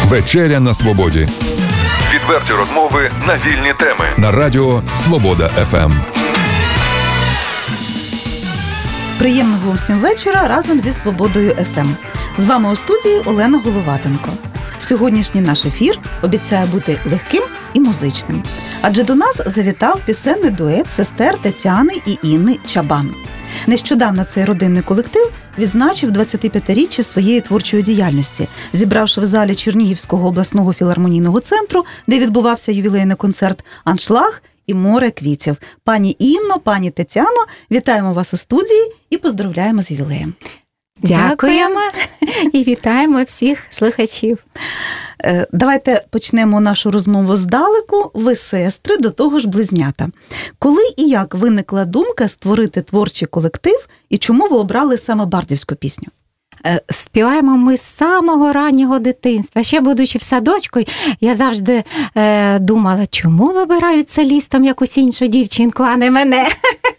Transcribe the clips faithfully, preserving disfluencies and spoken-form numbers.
Вечеря на свободі. Відверті розмови на вільні теми. На радіо Свобода еф ем. Приємного всім вечора разом зі Свободою еф ем. З вами у студії Олена Головатенко. Сьогоднішній наш ефір обіцяє бути легким і музичним. Адже до нас завітав пісенний дует сестер Тетяни і Інни Чабан. Нещодавно цей родинний колектив відзначив двадцятип'ятиріччя своєї творчої діяльності, зібравши в залі Чернігівського обласного філармонійного центру, де відбувався ювілейний концерт, аншлаг і море квітів. Пані Інно, пані Тетяно, вітаємо вас у студії і поздравляємо з ювілеєм. Дякуємо і вітаємо всіх слухачів. Давайте почнемо нашу розмову здалеку. Ви сестри, до того ж близнята. Коли і як виникла думка створити творчий колектив і чому ви обрали саме бардівську пісню? Співаємо ми з самого раннього дитинства. Ще будучи в садочку, я завжди е, думала, чому вибирають солістом якусь іншу дівчинку, а не мене.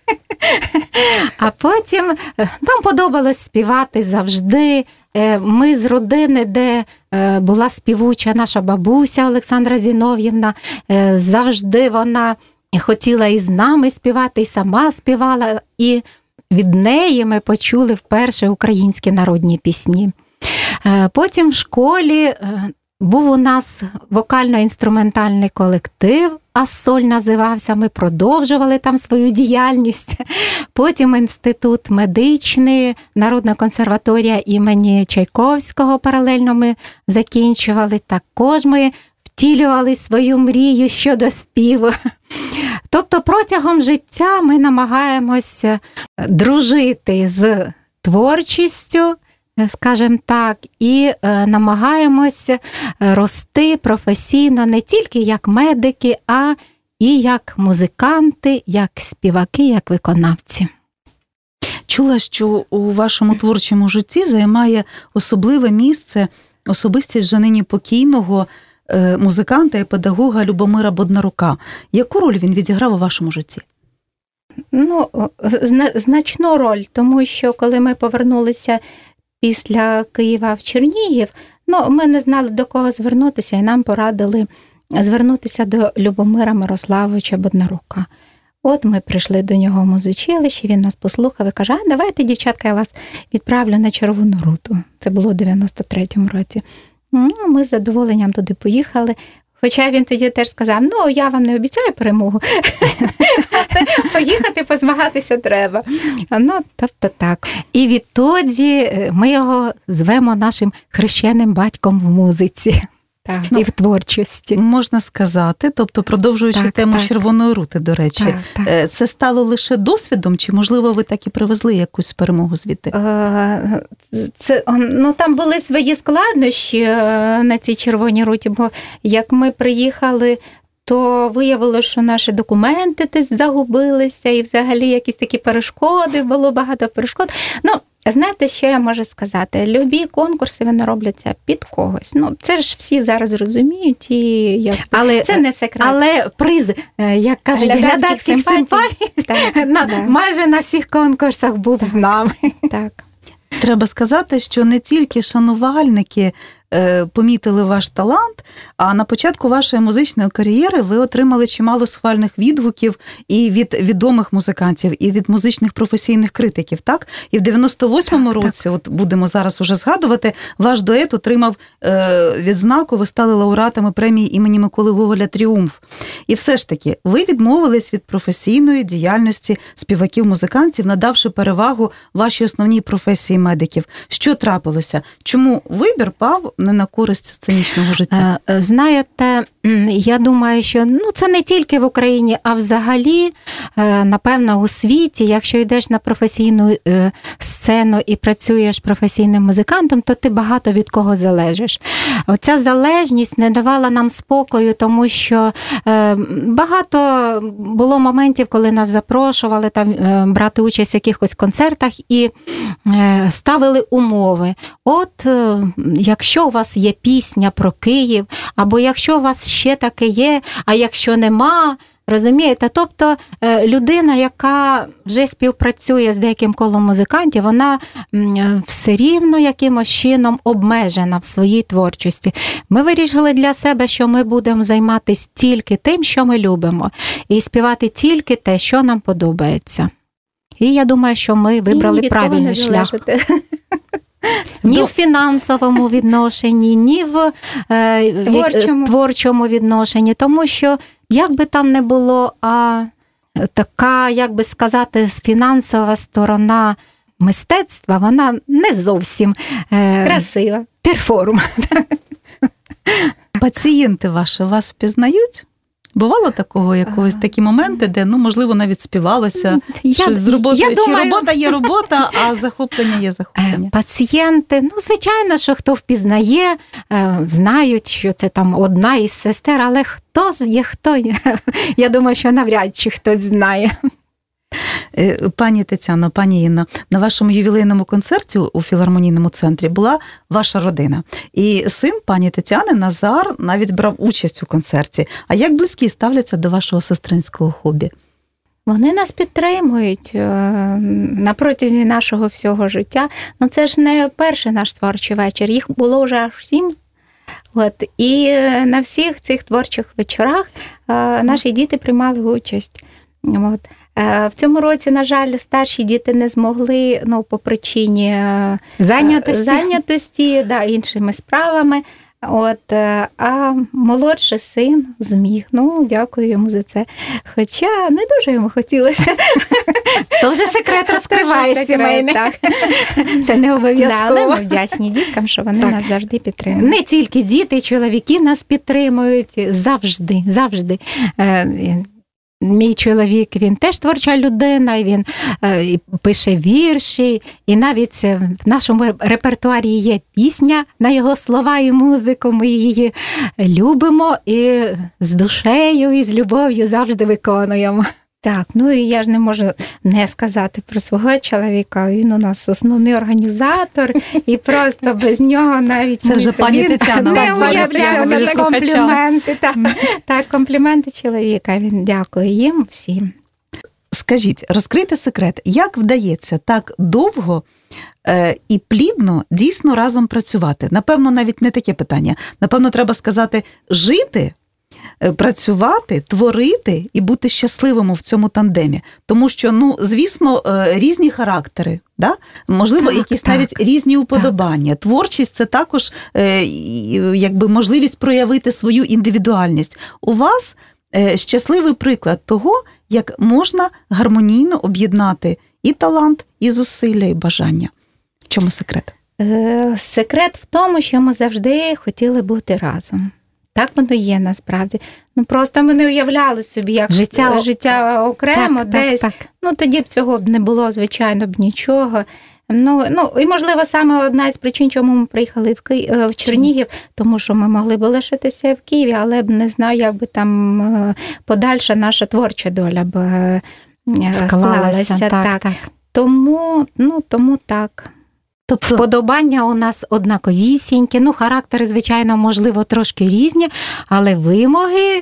А потім нам подобалось співати завжди. Ми з родини, де була співуча наша бабуся Олександра Зінов'ївна, завжди вона хотіла і з нами співати, і сама співала. І від неї ми почули вперше українські народні пісні. Потім в школі був у нас вокально-інструментальний колектив, «Ассоль» називався, ми продовжували там свою діяльність. Потім інститут медичний, Народна консерваторія імені Чайковського паралельно ми закінчували. Також ми втілювали свою мрію щодо співу. Тобто протягом життя ми намагаємося дружити з творчістю, скажімо так, і намагаємося рости професійно не тільки як медики, а і як музиканти, як співаки, як виконавці. Чула, що у вашому творчому житті займає особливе місце особистість вже нині покійного музиканта і педагога Любомира Боднарука. Яку роль він відіграв у вашому житті? Ну, значну роль, тому що коли ми повернулися після Києва в Чернігів, ну, ми не знали, до кого звернутися, і нам порадили звернутися до Любомира Мирославовича Боднарука. От ми прийшли до нього в музучилище, він нас послухав і каже, а давайте, дівчатка, я вас відправлю на Червону Руту. Це було в дев'яносто третьому році. Ну, ми з задоволенням туди поїхали. Хоча він тоді теж сказав, ну, я вам не обіцяю перемогу, поїхати, позмагатися треба. Ну, тобто так. І відтоді ми його звемо нашим хрещеним батьком в музиці. Так, ну, і в творчості. Можна сказати, тобто продовжуючи так, тему так. Червоної Рути, до речі, так, так. Це стало лише досвідом, чи, можливо, ви так і привезли якусь перемогу звідти? Це, ну, там були свої складнощі на цій Червоній Руті, бо як ми приїхали, то виявилося, що наші документи десь загубилися, і взагалі якісь такі перешкоди, було багато перешкод. Ну, знаєте, що я можу сказати? Любі конкурси, вони робляться під когось. Ну, це ж всі зараз розуміють, і я... але, це не секрет. Але приз, як кажуть, глядацьких симпатій, на, майже на всіх конкурсах був з нами. Так. Треба сказати, що не тільки шанувальники помітили ваш талант, а на початку вашої музичної кар'єри ви отримали чимало схвальних відгуків і від відомих музикантів, і від музичних професійних критиків, так? І в дев'яносто восьмому так, році, так. от будемо зараз уже згадувати, ваш дует отримав е, відзнаку, ви стали лауреатами премії імені Миколи Гоголя «Тріумф». І все ж таки, ви відмовились від професійної діяльності співаків-музикантів, надавши перевагу вашій основній професії медиків. Що трапилося? Чому вибір пав не на користь сценічного життя? Знаєте, я думаю, що ну, це не тільки в Україні, а взагалі, напевно, у світі, якщо йдеш на професійну сцену і працюєш професійним музикантом, то ти багато від кого залежиш. Оця залежність не давала нам спокою, тому що багато було моментів, коли нас запрошували там брати участь в якихось концертах і ставили умови. От, якщо у вас є пісня про Київ, або якщо у вас ще таке є, а якщо нема, Розумієте? Тобто людина, яка вже співпрацює з деяким колом музикантів, вона все рівно якимось чином обмежена в своїй творчості. Ми вирішили для себе, що ми будемо займатися тільки тим, що ми любимо, і співати тільки те, що нам подобається. І я думаю, що ми вибрали правильний шлях. Ні в фінансовому відношенні, ні в е, творчому. творчому відношенні, тому що, як би там не було, а така, як би сказати, фінансова сторона мистецтва, вона не зовсім е, красива. Перформ. Пацієнти ваші вас впізнають? Бувало такого якогось такі моменти, де, ну, можливо, навіть співалося я, щось з роботою? Чи думаю... робота є робота, а захоплення є захоплення? Пацієнти, ну, звичайно, що хто впізнає, знають, що це там одна із сестер, але хто є, хто? Я думаю, що навряд чи хтось знає. Пані Тетяно, пані Інно, на вашому ювілейному концерті у філармонійному центрі була ваша родина. І син пані Тетяни, Назар, навіть брав участь у концерті. А як близькі ставляться до вашого сестринського хобі? Вони нас підтримують на протязі нашого всього життя. Ну, це ж не перший наш творчий вечір, їх було вже аж сім. От. І на всіх цих творчих вечорах наші діти приймали участь. От. В цьому році, на жаль, старші діти не змогли, ну, по причині зайнятості, зайнятості да, іншими справами. От, а молодший син зміг. Ну, дякую йому за це. Хоча не дуже йому хотілося. То вже секрет розкриваєш сімейний. Так. Це не обов'язково. Да, але ми вдячні діткам, що вони так. нас завжди підтримують. Не тільки діти, чоловіки нас підтримують завжди, завжди. Мій чоловік, він теж творча людина, і він е, пише вірші, і навіть в нашому репертуарі є пісня на його слова і музику, ми її любимо і з душею, і з любов'ю завжди виконуємо. Так, ну і я ж не можу не сказати про свого чоловіка, він у нас основний організатор, і просто без нього навіть це вже пані Тетяна не уявляємо на компліменти. Так, так, компліменти чоловіка, він дякує їм всім. Скажіть, розкрийте секрет, як вдається так довго е, і плідно дійсно разом працювати? Напевно, навіть не таке питання. Напевно, треба сказати, жити, працювати, творити і бути щасливим в цьому тандемі. Тому що, ну, звісно, різні характери, да? Можливо, так, якісь так, навіть різні уподобання. Так. Творчість – це також якби можливість проявити свою індивідуальність. У вас щасливий приклад того, як можна гармонійно об'єднати і талант, і зусилля, і бажання. В чому секрет? Секрет в тому, що ми завжди хотіли бути разом. Так воно є насправді. Ну просто ми не уявляли собі, як життя, життя окремо так, десь. Так, так. Ну тоді б цього б не було, звичайно, б нічого. Ну, ну і, можливо, саме одна із причин, чому ми приїхали в, Ки... в Чернігів, тому що ми могли б лишитися в Києві, але б не знаю, як би там подальша наша творча доля б склалася. склалася. Так, так. Так. Тому, ну, тому так. Тобто вподобання у нас однаковісінькі, ну, характери, звичайно, можливо, трошки різні, але вимоги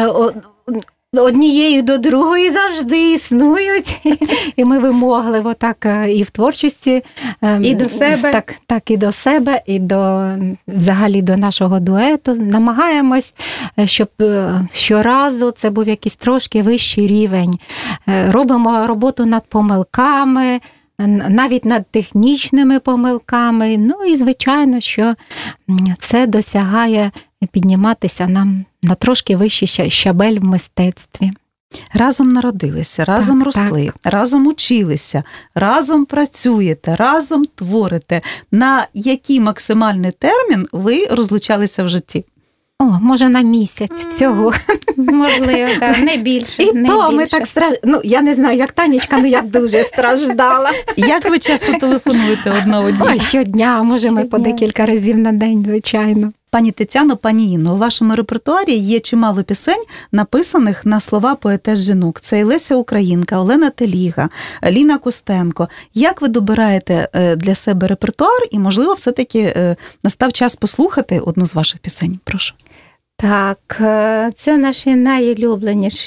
однієї до другої завжди існують, і ми вимогливо так і в творчості, і до себе, так, так і до себе, і до, взагалі до нашого дуету. Намагаємось, щоб щоразу це був якийсь трошки вищий рівень. Робимо роботу над помилками, навіть над технічними помилками. Ну і, звичайно, що це досягає підніматися нам на трошки вищий щабель в мистецтві. Разом народилися, разом так, росли, так. разом училися, разом працюєте, разом творите. На який максимальний термін ви розлучалися в житті? О, може, на місяць всього. Можливо, так, не більше. І не то більше. ми так страждали. Ну, я не знаю, як Танечка, але я дуже страждала. Як ви часто телефонуєте одна одній? Ой, щодня, може, ми по декілька разів на день, звичайно. Пані Тетяно, пані Інно, у вашому репертуарі є чимало пісень, написаних на слова поетес жінок. Це і Леся Українка, Олена Теліга, Ліна Костенко. Як ви добираєте для себе репертуар і, можливо, все-таки настав час послухати одну з ваших пісень? Прошу. Так, це наші найулюбленіші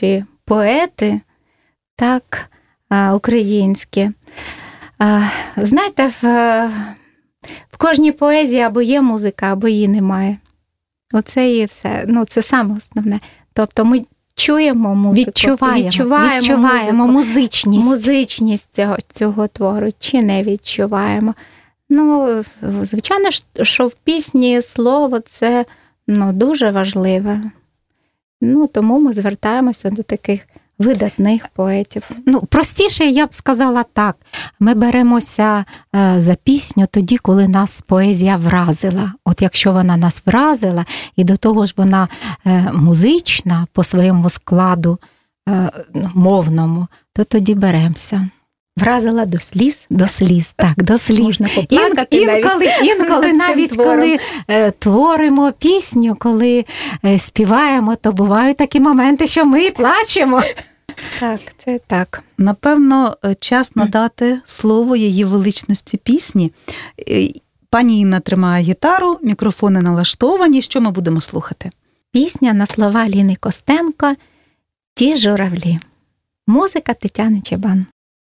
поети, так українські. Знаєте, в, в кожній поезії або є музика, або її немає. Оце і все. Ну, це саме основне. Тобто ми чуємо музику, відчуваємо, відчуваємо, відчуваємо музичність. Музичність цього, цього твору, чи не відчуваємо. Ну, звичайно, що в пісні слово це ну, дуже важливе. Ну, тому ми звертаємося до таких видатних поетів. Ну, простіше, я б сказала так. Ми беремося е, за пісню тоді, коли нас поезія вразила. От якщо вона нас вразила, і до того ж вона е, музична по своєму складу е, мовному, то тоді беремося. Вразила до сліз? До сліз, так, до сліз. Можна поплакати Ін, інколи, навіть, інколи навіть коли е, творимо пісню, коли е, співаємо, то бувають такі моменти, що ми плачемо. Так, це так. Напевно, час надати слово її величності пісні. Пані Інна тримає гітару, мікрофони налаштовані. Що ми будемо слухати? Пісня на слова Ліни Костенко «Ті журавлі». Музика Тетяни Чабан.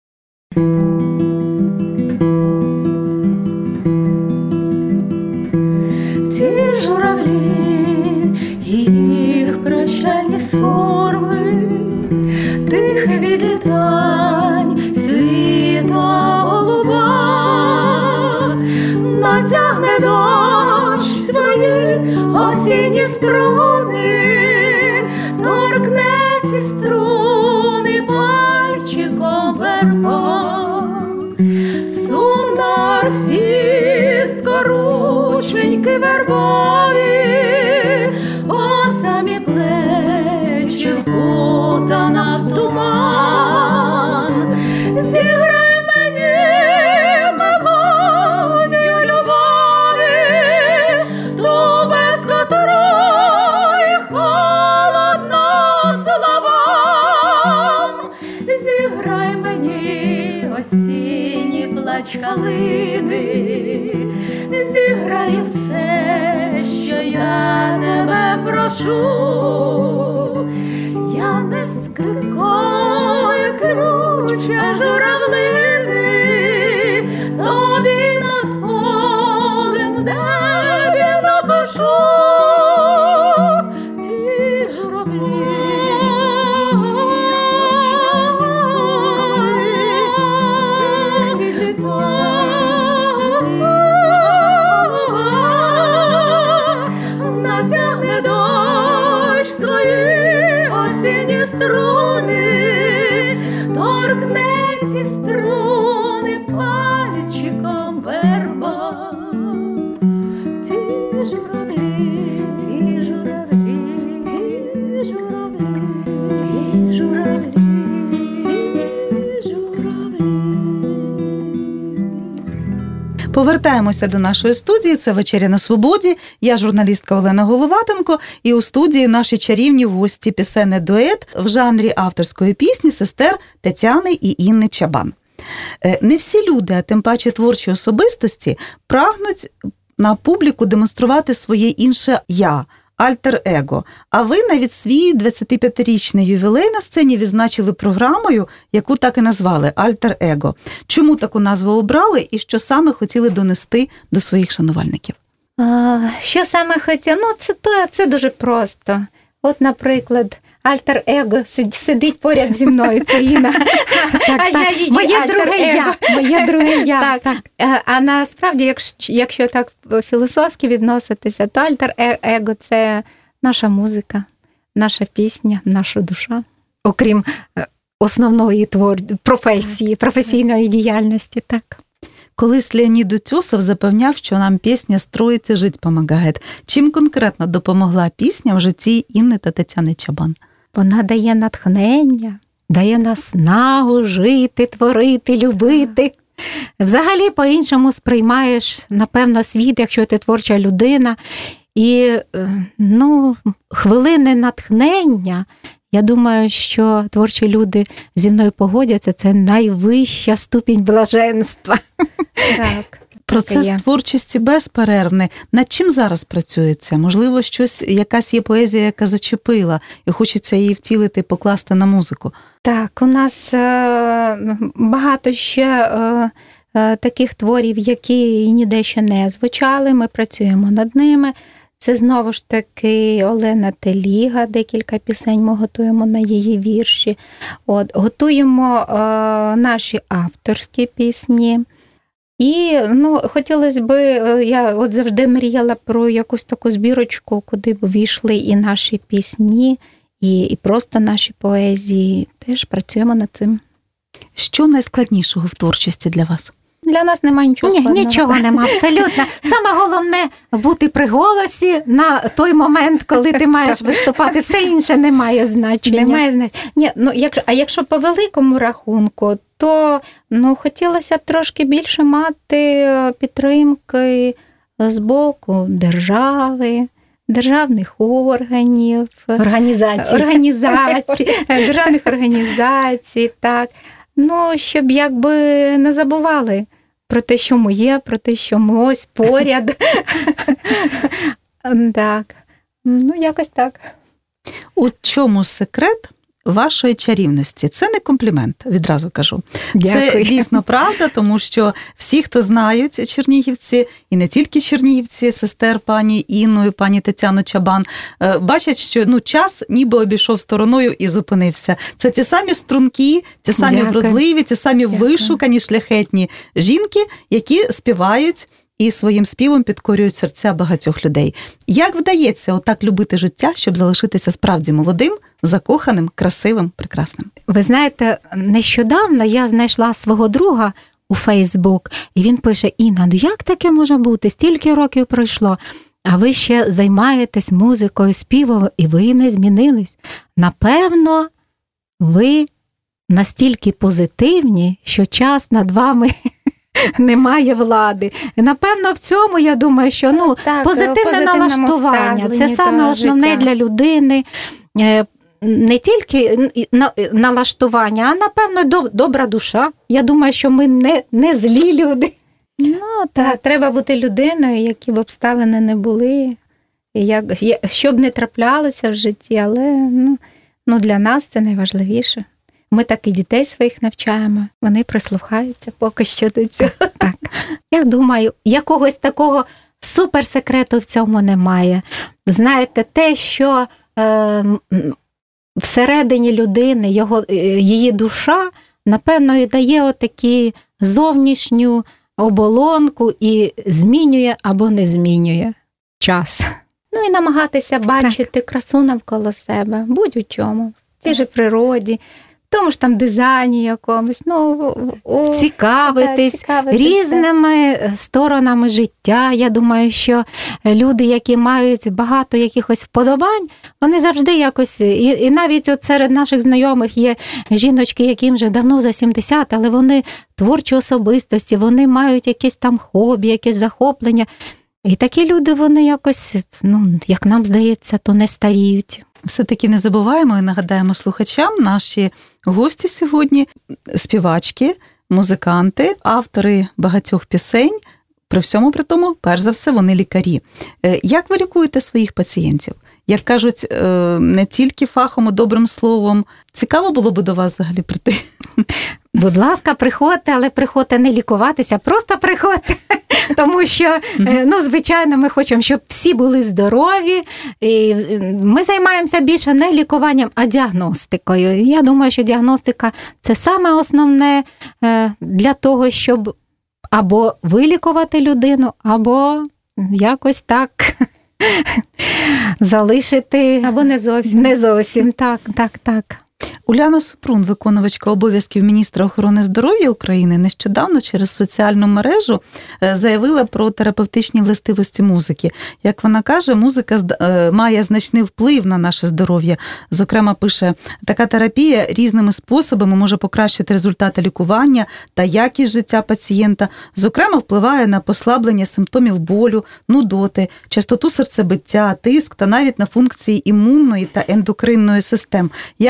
Ті журавлі, їх прощальні сформи, тихе відлітань світа голуба, натягне дощ свої осінні струни, торкне ці струни пальчиком верба, сумна арфістка, рученьки вербові, о самі плечі вкутана в туман. Зіграй мені мелодію любові, ту, без котрої холодно словам. Зіграй мені осінній плач калини, зіграй все, що я тебе прошу. Я не скрипкою кручу, а журавлини, тобі над полем небі напишу. Ті журавлі, натягне дощ свої осінні струни, торкне ці струни пальчиком верба. Ті журавлі, ті журавлі, ті журавлі, ті журавлі, ті журавлі. Повертаємося до нашої студії. Це «Вечеря на свободі». Я журналістка Олена Головатенко. І у студії наші чарівні гості пісенний дует в жанрі авторської пісні сестер Тетяни і Інни Чабан. Не всі люди, а тим паче творчі особистості, прагнуть на публіку демонструвати своє інше «я», альтер-его. А ви навіть свій двадцятип'ятирічний ювілей на сцені відзначили програмою, яку так і назвали «Альтер-его». Чому таку назву обрали і що саме хотіли донести до своїх шанувальників? А, що саме хотіли? Ну, це, то, це дуже просто. От, наприклад, альтер-его сидить поряд зі мною, це Інна. Так, а так. я її Моє друге я. Моє друге я. Так. Так. А насправді, якщо, якщо так філософськи відноситися, то альтер-его – це наша музика, наша пісня, наша душа. Окрім основної твор... професії, професійної діяльності, так. Колись Леонід Утьосов запевняв, що нам пісня «Строїть і жить помагає». Чим конкретно допомогла пісня в житті Інни та Тетяни Чабан? Вона дає натхнення. Дає наснагу жити, творити, любити. Взагалі по-іншому сприймаєш, напевно, світ, якщо ти творча людина. І, ну, хвилини натхнення, я думаю, що творчі люди зі мною погодяться, це найвища ступінь блаженства. Так. Процес творчості безперервний. Над чим зараз працюється? Можливо, щось, якась є поезія, яка зачепила, і хочеться її втілити, покласти на музику? Так, у нас е- багато ще е- е- таких творів, які ніде ще не звучали, ми працюємо над ними. Це знову ж таки Олена Теліга, декілька пісень ми готуємо на її вірші. От, готуємо е, наші авторські пісні. І ну, хотілося б, я от завжди мріяла про якусь таку збірочку, куди б війшли і наші пісні, і, і просто наші поезії. Теж працюємо над цим. Що найскладнішого в творчості для вас? Для нас немає нічого Ні, складного. Нічого нема, абсолютно. Саме головне бути при голосі на той момент, коли ти маєш виступати. Все інше не має значення. Немає значення. Ні, ну, як, а якщо по великому рахунку, то ну, хотілося б трошки більше мати підтримки з боку держави, державних органів, Організацій. Організацій, державних організацій, так. Ну, щоб якби не забували про те, що ми є, про те, що ми ось поряд. Так. Ну, якось так. У чому секрет вашої чарівності? Це не комплімент, відразу кажу. Дякую. Це дійсно правда, тому що всі, хто знають чернігівці, і не тільки чернігівці, сестер пані Інну і пані Тетяну Чабан, бачать, що ну, час ніби обійшов стороною і зупинився. Це ті самі стрункі, ті самі Дякую. вродливі, ті самі Дякую. вишукані, шляхетні жінки, які співають і своїм співом підкорюють серця багатьох людей. Як вдається отак любити життя, щоб залишитися справді молодим, закоханим, красивим, прекрасним? Ви знаєте, нещодавно я знайшла свого друга у Фейсбук, і він пише: Інна, ну як таке може бути? Стільки років пройшло, а ви ще займаєтесь музикою, співом, і ви не змінились. Напевно, ви настільки позитивні, що час над вами немає влади. І, напевно, в цьому, я думаю, що ну, так, позитивне налаштування. Це саме основне життя. для людини. Не тільки налаштування, а, напевно, добра душа. Я думаю, що ми не, не злі люди. Ну, так, треба бути людиною, які б обставини не були, як, що б не траплялося в житті, але ну, ну, для нас це найважливіше. Ми так і дітей своїх навчаємо, вони прислухаються поки що до цього. Так. Я думаю, якогось такого суперсекрету в цьому немає. Знаєте, те, що е, всередині людини, його, її душа, напевно, і дає отакі зовнішню оболонку і змінює або не змінює час. Ну і намагатися бачити так. красу навколо себе, будь у чому, в тій же природі, в тому ж там дизайні якомусь. Ну, у... Цікавитись, так, цікавитись різними сторонами життя. Я думаю, що люди, які мають багато якихось вподобань, вони завжди якось, і, і навіть от серед наших знайомих є жіночки, яким вже давно за сімдесят, але вони творчі особистості, вони мають якесь там хобі, якесь захоплення. І такі люди, вони якось, ну, як нам здається, то не старіють. Все-таки не забуваємо і нагадаємо слухачам, наші гості сьогодні – співачки, музиканти, автори багатьох пісень. При всьому при тому, перш за все, вони лікарі. Як ви лікуєте своїх пацієнтів? Як кажуть, не тільки фахом, а добрим словом. Цікаво було би до вас взагалі прийти? Будь ласка, приходьте, але приходьте не лікуватися, просто приходьте. Тому що, ну, звичайно, ми хочемо, щоб всі були здорові. І ми займаємося більше не лікуванням, а діагностикою. Я думаю, що діагностика – це саме основне для того, щоб або вилікувати людину, або якось так залишити. Або не зовсім. Не зовсім, так, так, так. Уляна Супрун, виконувачка обов'язків міністра охорони здоров'я України, нещодавно через соціальну мережу заявила про терапевтичні властивості музики. Як вона каже, музика має значний вплив на наше здоров'я. Зокрема, пише, така терапія різними способами може покращити результати лікування та якість життя пацієнта. Зокрема, впливає на послаблення симптомів болю, нудоти, частоту серцебиття, тиск та навіть на функції імунної та ендокринної систем. Як би ви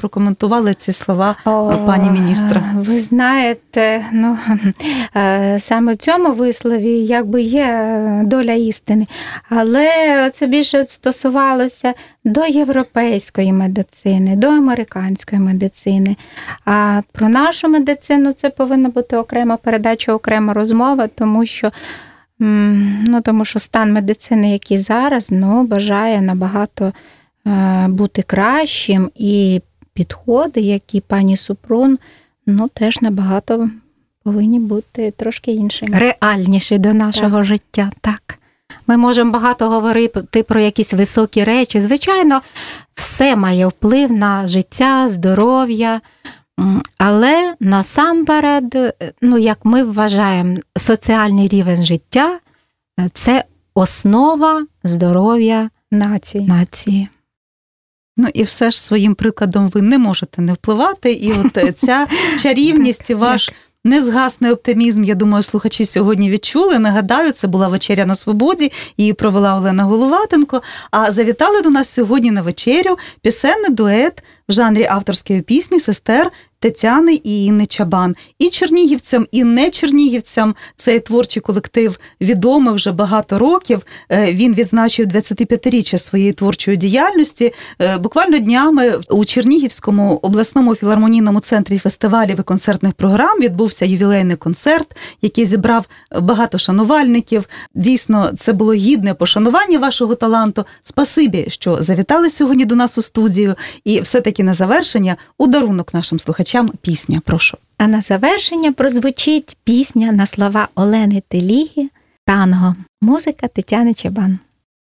прокоментували ці слова О, пані міністра? Ви знаєте, ну, саме в цьому вислові якби є доля істини, але це більше стосувалося до європейської медицини, до американської медицини. А про нашу медицину це повинна бути окрема передача, окрема розмова, тому що Ну, тому що стан медицини, який зараз, ну, бажає набагато е, бути кращим, і підходи, які пані Супрун, ну, теж набагато повинні бути трошки іншими. Реальніші до нашого так. життя, так. Ми можемо багато говорити про якісь високі речі. Звичайно, все має вплив на життя, здоров'я, але насамперед, ну, як ми вважаємо, соціальний рівень життя – це основа здоров'я нації. нації. Ну і все ж своїм прикладом ви не можете не впливати, і от ця чарівність і ваш незгасний оптимізм, я думаю, слухачі сьогодні відчули. Нагадаю, це була «Вечеря на свободі», її провела Олена Головатенко, а завітали до нас сьогодні на вечерю пісенний дует в жанрі авторської пісні сестер Тетяни і Інни Чабан. І чернігівцям, і не чернігівцям цей творчий колектив відомий вже багато років. Він відзначив двадцятип'ятиріччя своєї творчої діяльності. Буквально днями у Чернігівському обласному філармонійному центрі фестивалів і концертних програм відбувся ювілейний концерт, який зібрав багато шанувальників. Дійсно, це було гідне пошанування вашого таланту. Спасибі, що завітали сьогодні до нас у студію. І все-таки на завершення у дарунок нашим слухачам пісня, прошу. А на завершення прозвучить пісня на слова Олени Теліги «Танго». Музика Тетяни Чабан.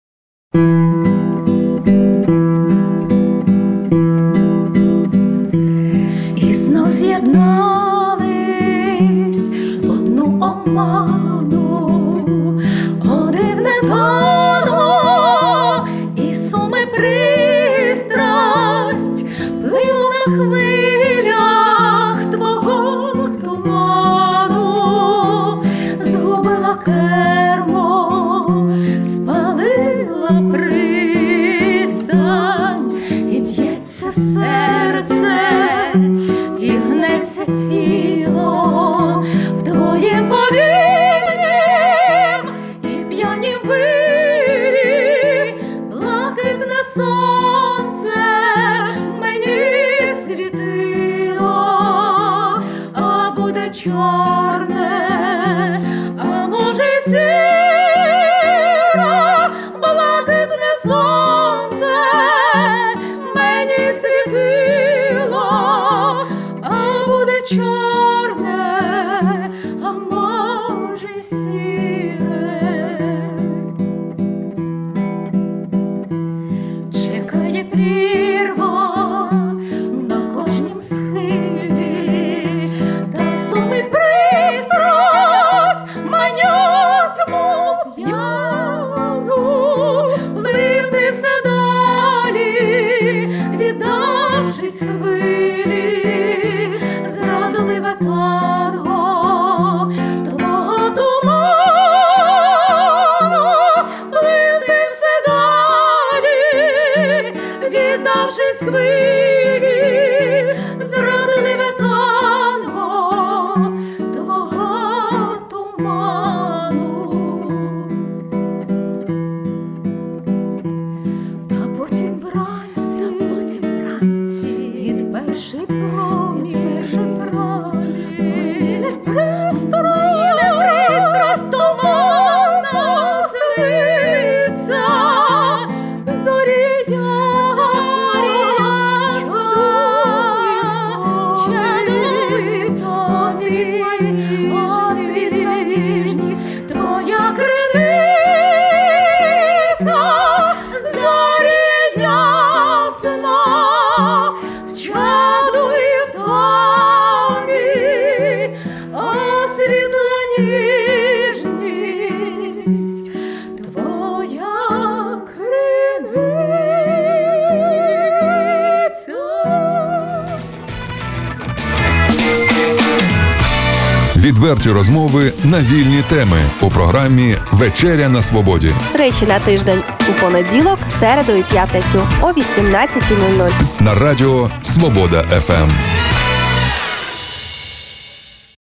І знов з'єднались в одну оману, о дивне танго, і суми пристрасть пливу на хвилях твого туману, згубила кермо, спалила пристань, і б'ється серце, і гнеться тіло в твоїм повільнім і п'янім вирі, блакитне сонце мені світило, а буде чорне, а може й сіро, блакитне сонце мені світило, а буде чорне, а може й сіре. Чекає прірва на кожнім схилі, та суми пристрасть манять, мов п'яну, пливти все далі, віддавшись хвилі, зрадливе танго твого туману, пливти все далі, віддавшись хвилі, зрадливе танго твого туману. Та потім вранці, потім вранці, під перший промінь, перший промінь, не пристрасть, не пристрасть туманна сниться, зорі ясна, вчений освітла ніжність, твоя криниця, зорі ясна, вчадуй в тобі, освітла ніжність, твоя криниця. Відверті розмови на вільні теми у програмі «Вечеря на свободі». Тричі на тиждень у понеділок, середу і п'ятницю о вісімнадцятій нуль нуль. На радіо Свобода еф ем.